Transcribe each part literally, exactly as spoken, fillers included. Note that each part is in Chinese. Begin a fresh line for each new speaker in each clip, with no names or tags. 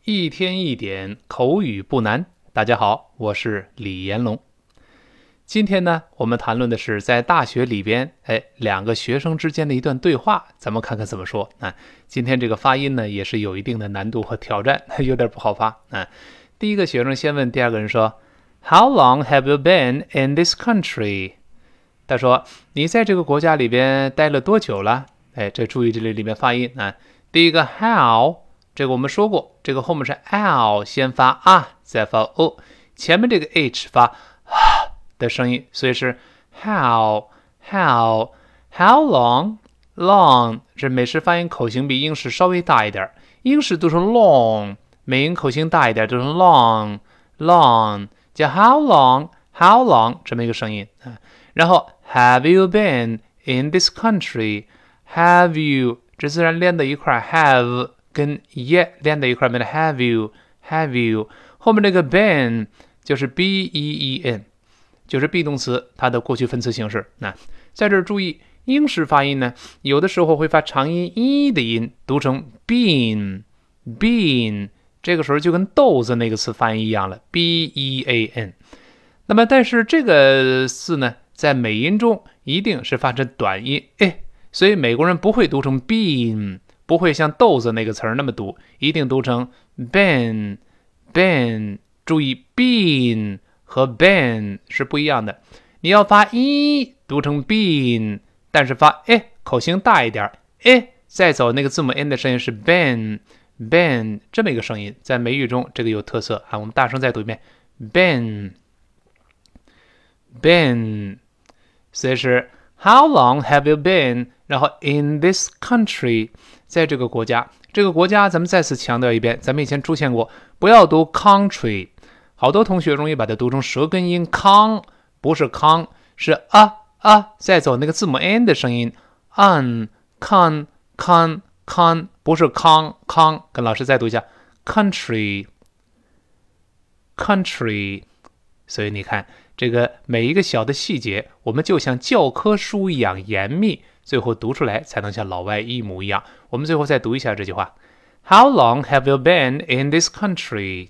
一天一点口语不难。大家好，我是李延龙。今天呢，我们谈论的是在大学里边，哎，两个学生之间的一段对话，咱们看看怎么说啊。今天这个发音呢，也是有一定的难度和挑战，有点不好发啊。第一个学生先问第二个人说 ，How long have you been in this country？ 他说，你在这个国家里边待了多久了？哎，这注意这里里面发音啊。第一个 how。这个我们说过，这个后面是 l 先发啊，再发 o， 前面这个 h 发啊的声音，所以是 how how how long long。这美式发音口型比英式稍微大一点，英式读成 long， 美音口型大一点，读成 long long， 叫 how long how long 这么一个声音啊。然后 have you been in this country？ have you 这自然连在一块 have。跟 yet 连在一块，变成 have you have you， 后面这个 been 就是 b e e n， 就是 be 动词它的过去分词形式。那在这儿注意，英式发音呢，有的时候会发长音 e 的音，读成 been been， 这个时候就跟豆子那个词发音一样了 b e a n。那么但是这个字呢，在美音中一定是发成短音 a， 所以美国人不会读成 been。不会像豆子那个词儿那么读，一定读成 been been。注意 been 和 been 是不一样的，你要发 e 读成 been， 但是发 e 口型大一点 e 再走那个字母 n 的声音是 ben ben 这么一个声音，在美语中这个有特色啊。我们大声再读一遍 ben ben， 所以是 How long have you been？ 然后 in this country， 在这个国家，这个国家咱们再次强调一遍，咱们以前出现过，不要读 country， 好多同学容易把它读成舌根音 con， 不是 con， 是啊啊，再走那个字母 n 的声音 un con con con， 不是 con con， 跟老师再读一下 country country。 所以你看这个每一个小的细节，我们就像教科书一样严密，最后读出来才能像老外一模一样。我们最后再读一下这句话 How long have you been in this country？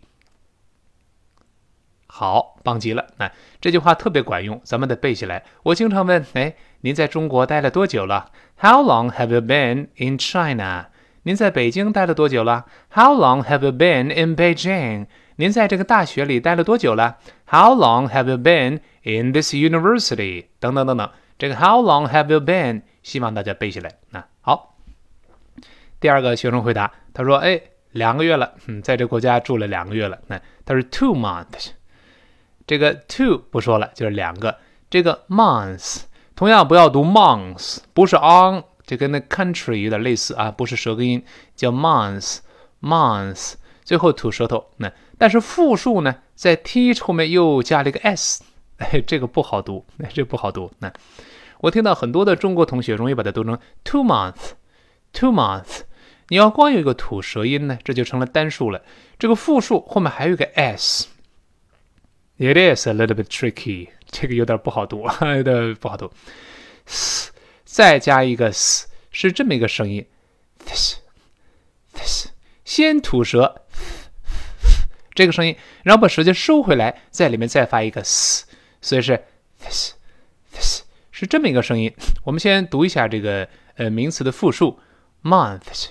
好，棒极了。那这句话特别管用，咱们得背起来。我经常问，哎，您在中国待了多久了？ How long have you been in China？ 您在北京待了多久了？ How long have you been in Beijing？ 您在这个大学里待了多久了？ How long have you been in this university？ 等等等等，这个 How long have you been？ 希望大家背起来。那好，第二个学生回答，他说：“哎，两个月了，嗯，在这国家住了两个月了。”那他是 two months， 这个 two 不说了，就是两个。这个 months 同样不要读 months， 不是 on， 这跟那 country 有点类似啊，不是舌根音，叫 months months， 最后吐舌头。那但是复数呢，在 t 后面又加了一个 s， 哎，这个不好读，这不好读。那我听到很多的中国同学容易把它读成 two months two months， 你要光有一个吐舌音呢，这就成了单数了。这个复数后面还有一个 s， it is a little bit tricky， 这个有点不好读，有点不好读。再加一个 s， 是这么一个声音 this this， 先吐舌这个声音，然后把舌尖收回来，在里面再发一个 s， 所以是 this this， 是这么一个声音。我们先读一下这个呃名词的复数 months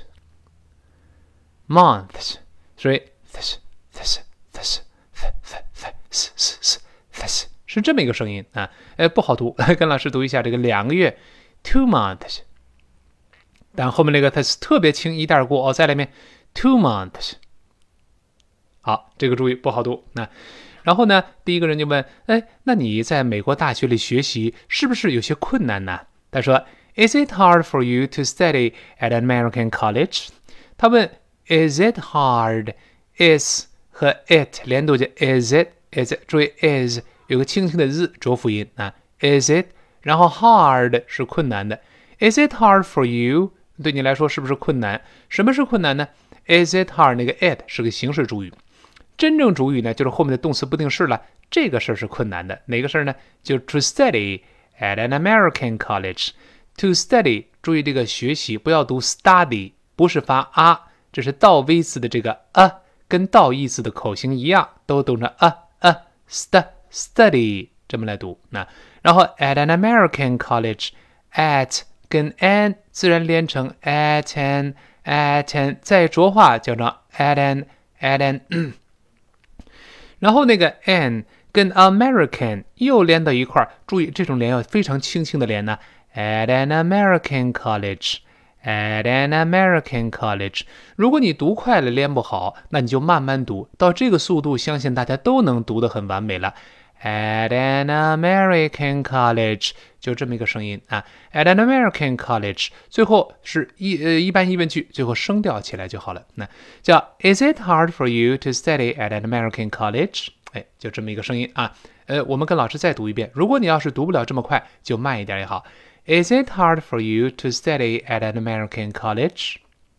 months， 所以 this this this this this this 是这么一个声音啊，呃不好读，跟老师读一下这个两个月 two months， 但后面那个 this 特别轻一带过哦，在里面 two months。好，这个注意不好读。那然后呢，第一个人就问，哎，那你在美国大学里学习是不是有些困难呢？他说 Is it hard for you to study at an American college？ 他问 Is it hard？ Is 和 it 连读就 Is it Is it， 注意 is 有个轻轻的日浊辅音啊 Is it， 然后 hard 是困难的 Is it hard for you？ 对你来说是不是困难？什么是困难呢？ Is it hard？ 那个 it 是个形式主语，真正主语呢，就是后面的动词不定式了。这个事儿是困难的，哪个事儿呢？就是 to study at an American college。to study， 注意这个学习不要读 study， 不是发啊，这是倒 v 字的这个啊跟倒义字的口型一样，都读成 a a st study 这么来读。那然后 at an American college at 跟 an 自然连成 at an at an 再浊化叫成 at an at an 然后那个 an 跟 American 又连到一块儿，注意这种连要非常轻轻的连呢。At an American college, at an American college。如果你读快了连不好，那你就慢慢读，到这个速度，相信大家都能读得很完美了。At an American college， 就这么一个声音啊。At an American college， 最后是一呃一般疑问句，最后声调起来就好了。那叫 Is it hard for you to study at an American college？ 哎，就这么一个声音啊。呃，我们跟老师再读一遍。如果你要是读不了这么快，就慢一点也好。Is it hard for you to study at an American college?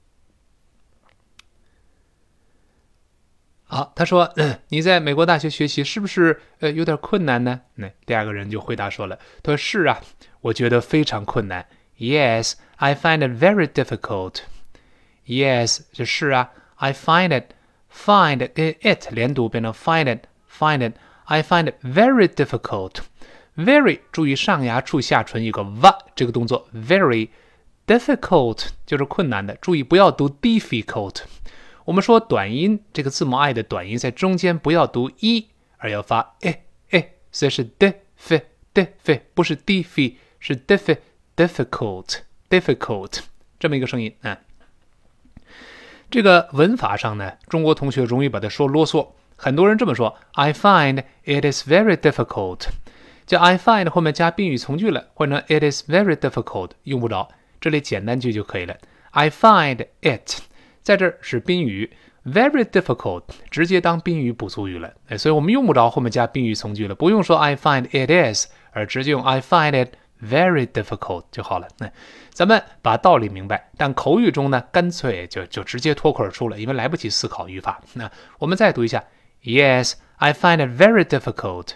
好，他说、呃、你在美国大学学习是不是呃有点困难呢？那第二个人就回答说了，他说是啊，我觉得非常困难。Yes, I find it very difficult. Yes, 就是啊 I find it, find 跟 it 连读变成 find it, find it. I find it very difficult.Very 注意上牙处下唇一个 v 这个动作 very difficult 就是困难的，注意不要读 difficult。我们说短音这个字母 i 的短音在中间不要读 e， 而要发 e e， 所以是 diff diff 不是 diff 是 diff difficult difficult 这么一个声音啊。这个文法上呢，中国同学容易把它说啰嗦，很多人这么说 I find it is very difficult。叫 I find 后面加宾语从句了，换成 It is very difficult 用不着，这里简单句就可以了。I find it 在这儿是宾语 very difficult 直接当宾语补足语了，所以我们用不着后面加宾语从句了，不用说 I find it is， 而直接用 I find it very difficult 就好了。那咱们把道理明白，但口语中呢，干脆就就直接脱口而出了，因为来不及思考语法。那我们再读一下 Yes, I find it very difficult。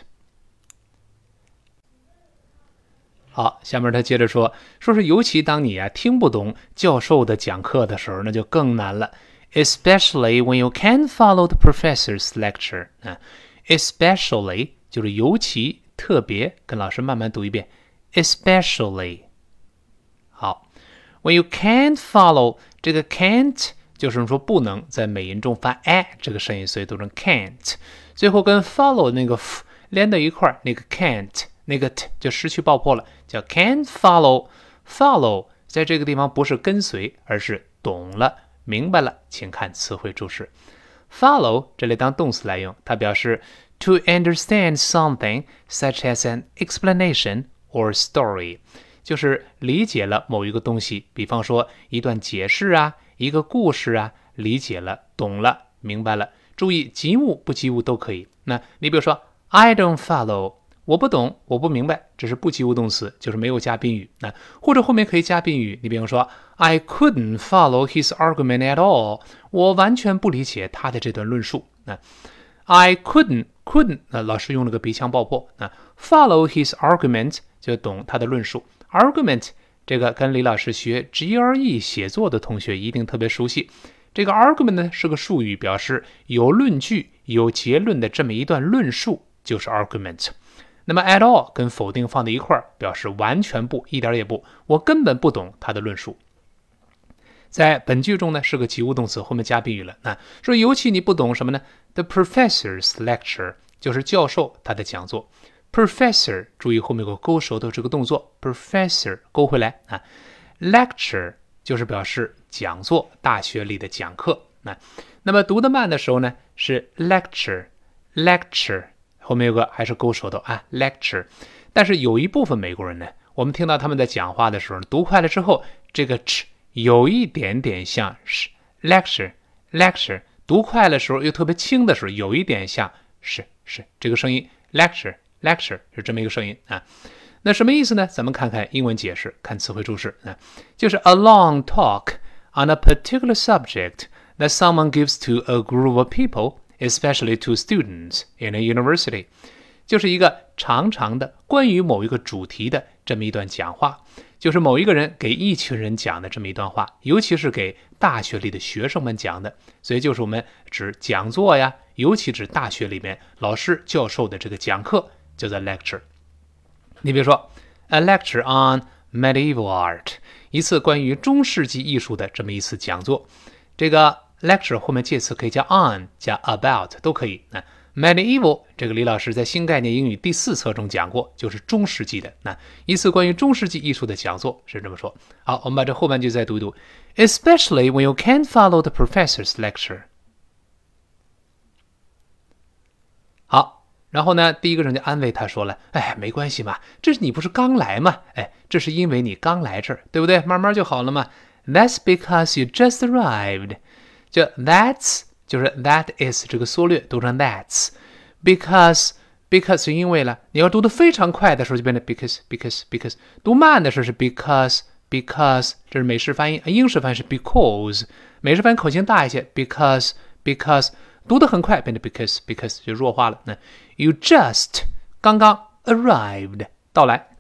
好，下面他接着说，说是尤其当你啊听不懂教授的讲课的时候，那就更难了。Especially when you can't follow the professor's lecture。啊 ，especially 就是尤其特别，跟老师慢慢读一遍。Especially。好 ，when you can't follow 这个 can't 就是说不能在美音中发 a 这个声音，所以读成 can't。最后跟 follow 那个 f 连到一块儿，那个 can't。那个 t 就失去爆破了，叫 can't follow。 follow 在这个地方不是跟随，而是懂了明白了，请看词汇注释。 follow 这里当动词来用，它表示 to understand something such as an explanation or story， 就是理解了某一个东西，比方说一段解释啊，一个故事啊，理解了懂了明白了。注意及物不及物都可以。那你比如说 I don't follow，我不懂，我不明白，这是不及物动词，就是没有加宾语。那或者后面可以加宾语，你比方说 I couldn't follow his argument at all， 我完全不理解他的这段论述。那 I couldn't couldn't 那老师用了个鼻腔爆破。那 follow his argument 就懂他的论述。argument 这个跟李老师学 G R E 写作的同学一定特别熟悉。这个 argument 呢是个术语，表示有论据、有结论的这么一段论述，就是 argument。那么 at all 跟否定放在一块儿，表示完全不，一点也不，我根本不懂他的论述。在本句中呢，是个及物动词，后面加宾语了。那说尤其你不懂什么呢？ The professor's lecture 就是教授他的讲座。Professor 注意后面有个勾舌头这个动作 ，Professor 勾回来啊。Lecture 就是表示讲座，大学里的讲课。那那么读得慢的时候呢，是 lecture lecture。后面有个还是勾舌头啊 lecture。 但是有一部分美国人呢，我们听到他们在讲话的时候读快了之后，这个 ch 有一点点像是 lecture lecture， 读快的时候又特别轻的时候有一点像是是这个声音 lecture lecture 是这么一个声音啊。那什么意思呢？咱们看看英文解释，看词汇注释啊，就是 a long talk on a particular subject that someone gives to a group of people，especially to students in a university， 就是一个长长的关于某一个主题的这么一段讲话， 就是某一个人给一群人讲的这么一段话，尤其是给大学里的学生们讲的，所以就是我们指讲座呀，尤其指大学里面老师教授的这个讲课叫做 lecture。 你比如说 a lecture on medieval art， 一次关于中世纪艺术的这么一次讲座，这个 lecture 后面介词可以加 on 加 about 都可以。那 medieval 这个李老师在新概念英语第四册中讲过，就是中世纪的。那一次关于中世纪艺术的讲座是这么说。好，我们把这后半句再读一读 especially when you can't follow the professor's lecture。 好，然后呢第一个人就安慰他说了，哎，没关系嘛，这是你不是刚来嘛，哎，这是因为你刚来这儿，对不对？慢慢就好了嘛。 That's because you just arrived。 就 that's 就是 that is 这个缩略读成 that's， because because 是因为了，你要读得非常快的时候就变成 because because because， 读慢的时候是 because because， 这是美式发音，英式发音是 because， 美式发音口型大一些 because because， 读得很快变成 because because 就弱化了。那 you just 刚刚 arrived 到来，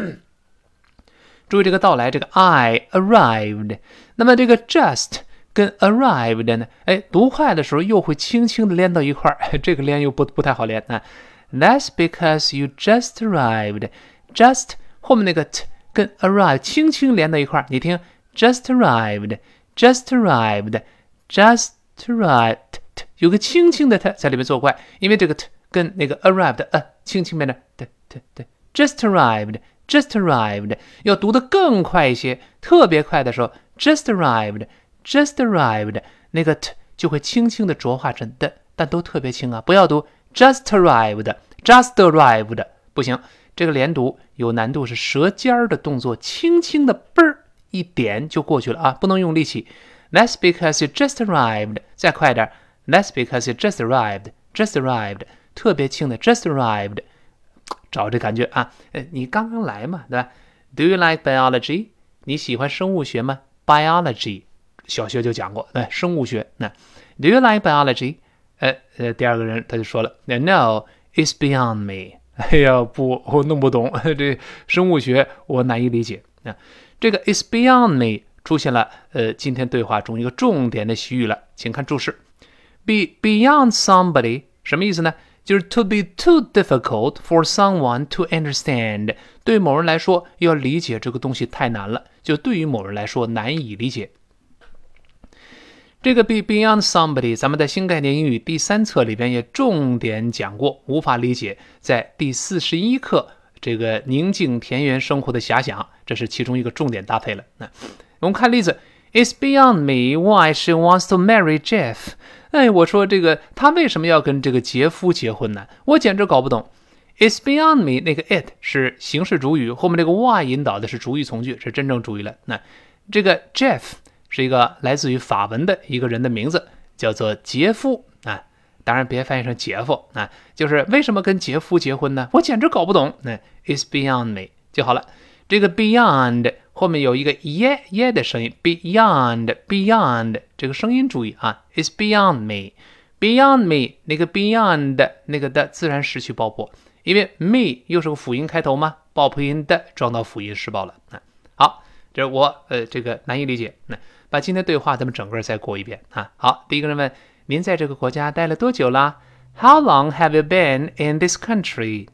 注意这个到来，这个 I arrived， 那么这个 just跟 arrived 呢，哎，读快的时候又会轻轻的连到一块儿，这个连又不不太好连啊。That's because you just arrived。 just 后面那个 t 跟 arrive 轻轻连到一块儿，你听 just arrived just arrived just arrived， t 有个轻轻的 t 在里面作怪，因为这个 t 跟那个 arrived 呃轻轻变成 t t t just arrived just arrived， 要读得更快一些，特别快的时候 just arrived just arrived， 那个 t 就会轻轻的浊化成的，但都特别轻啊，不要读 just arrived just arrived， 不行，这个连读有难度，是舌尖的动作，轻轻的嘣儿一点就过去了啊，不能用力气。 That's because you just arrived， 再快点 That's because you just arrived just arrived， 特别轻的 just arrived， 找这感觉啊，你刚刚来嘛，对吧？ Do you like biology？ 你喜欢生物学吗？ Biology小学就讲过，哎，生物学。那 Do you like biology？ 呃呃，第二个人他就说了 No, it's beyond me。 哎呀，不，我弄不懂这生物学，我难以理解。那这个 it's beyond me 出现了，呃，今天对话中一个重点的习语了，请看注释。Be beyond somebody 什么意思呢？就是 to be too difficult for someone to understand， 对某人来说要理解这个东西太难了，就对于某人来说难以理解。这个 be beyond somebody 咱们在新概念英语第三册里边也重点讲过，无法理解，在第四十一课这个宁静田园生活的遐想，这是其中一个重点搭配了。那我们看例子， It's beyond me why she wants to marry Jeff。 哎，我说这个他为什么要跟这个杰夫结婚呢？我简直搞不懂。 It's beyond me 那个 it 是形式主语，后面这个 why 引导的是主语从句，是真正主语了。那这个 Jeff 是一个来自于法文的一个人的名字，叫做杰夫啊，当然别翻译成杰夫啊，就是为什么跟杰夫结婚呢？我简直搞不懂。那 It's beyond me 就好了。这个 beyond 后面有一个耶耶的声音 ，beyond beyond 这个声音注意啊 ，It's beyond me beyond me 那个 beyond 那个的自然失去爆破，因为 me 又是个辅音开头嘛，爆破音的装到辅音失爆了。啊、好，这是我呃这个难以理解。那把今天对话咱们整个再过一遍啊。好，第一个人问您在这个国家待了多久啦 ？How long have you been in this country？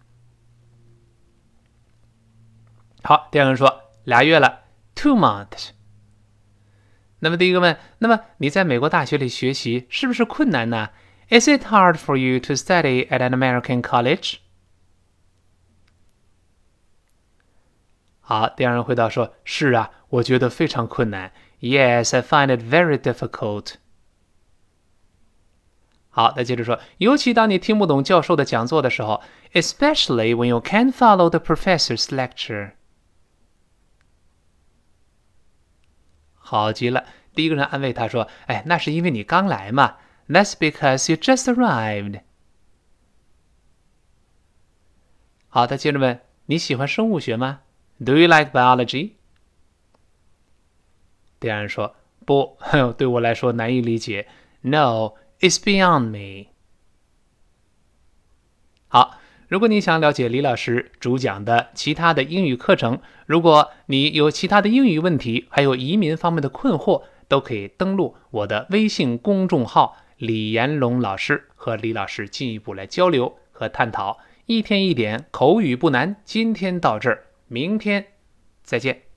好，第二个人说俩月了 ，two months。那么第一个问，那么你在美国大学里学习是不是困难呢 ？Is it hard for you to study at an American college？ 好，第二人回答说，是啊，我觉得非常困难。Yes, I find it very difficult。好，再接着说，尤其当你听不懂教授的讲座的时候 ，especially when you can't follow the professor's lecture。好极了，第一个人安慰他说，哎，那是因为你刚来嘛。That's because you just arrived。好，他接着问，你喜欢生物学吗 ？Do you like biology？ 第二人说，不，对我来说难以理解。No, it's beyond me。好， 如果你想了解李老师主讲的其他的英语课程，如果你有其他的英语问题，还有移民方面的困惑，都可以登录我的微信公众号李延龙老师，和李老师进一步来交流和探讨。一天一点口语不难，今天到这儿，明天再见。